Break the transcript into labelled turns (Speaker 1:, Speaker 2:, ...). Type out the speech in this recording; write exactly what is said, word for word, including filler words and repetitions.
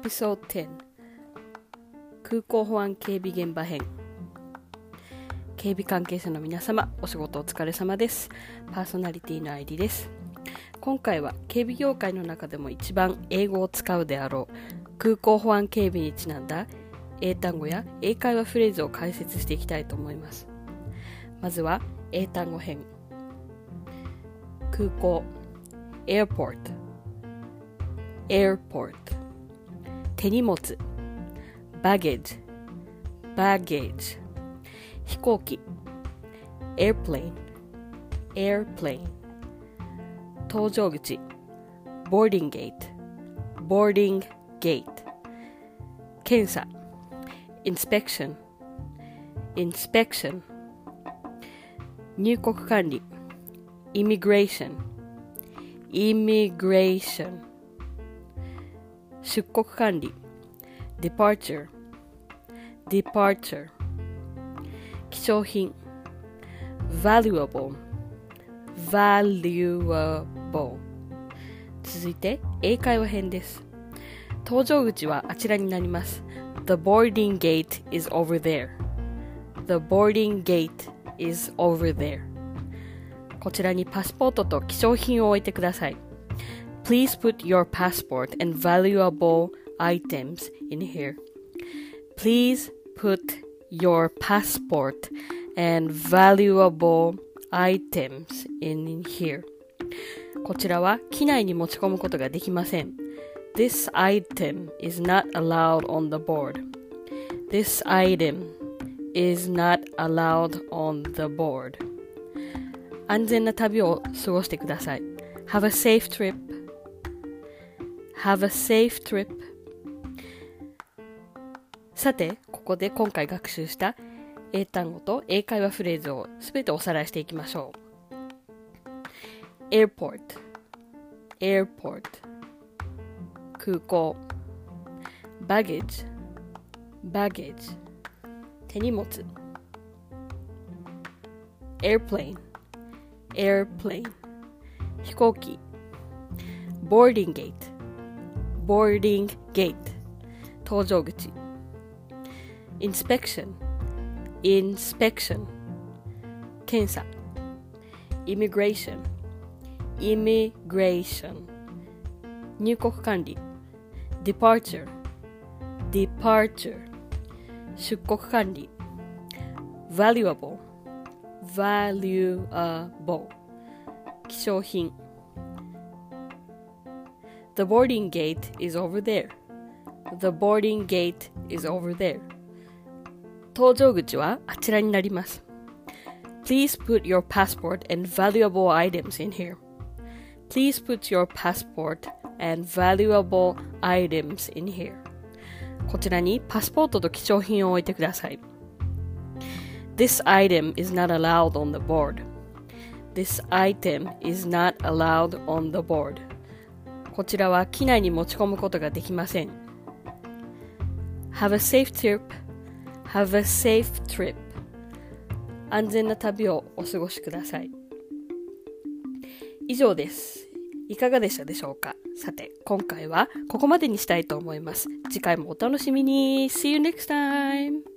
Speaker 1: ピソードじゅう空港保安警備現場編。警備関係者の皆様、お仕事お疲れ様です。パーソナリティの愛理です。今回は警備業界の中でも一番英語を使うであろう空港保安警備にちなんだ英単語や英会話フレーズを解説していきたいと思います。まずは英単語編。空港 airport airport 手荷物 baggage baggage 飛行機 airplane airplane 搭乗口 boarding gate boarding gate 検査 inspection inspection 入国管理 immigration immigration 出国管理 departure departure 希少品 valuable valuable 続いて英会話編です。搭乗口はあちらになります。 The boarding gate is over there The boarding gate is over there こちらにパスポートと希少品を置いてください。 Please put your passport and valuable items in here Please put your passport and valuable items in here こちらは機内に持ち込むことができません。 This item is not allowed on the board This item is not allowed on the board 安全な旅を過ごしてください。 Have a safe trip Have a safe trip さて、ここで今回学習した英単語と英会話フレーズをすべておさらいしていきましょう。 Airport Airport 空港 Baggage Baggage 手荷物 Airplane Airplane 飛行機 Boarding Gate Boarding Gate 搭乗口 Inspection Inspection 検査 Immigration Immigration 入国管理 Departure Departure 出国管理 Valuable Valuable 希少品 The boarding gate is over there The boarding gate is over there 搭乗口はあちらになります。 Please put your passport and valuable items in here Please put your passport and valuable items in here こちらにパスポートと貴重品を置いてください。 This item is not allowed on the board This item is not allowed on the board こちらは機内に持ち込むことができません。 Have a safe trip Have a safe trip 安全な旅をお過ごしください。以上です。いかがでしたでしょうか。さて、今回はここまでにしたいと思います。次回もお楽しみに。See you next time!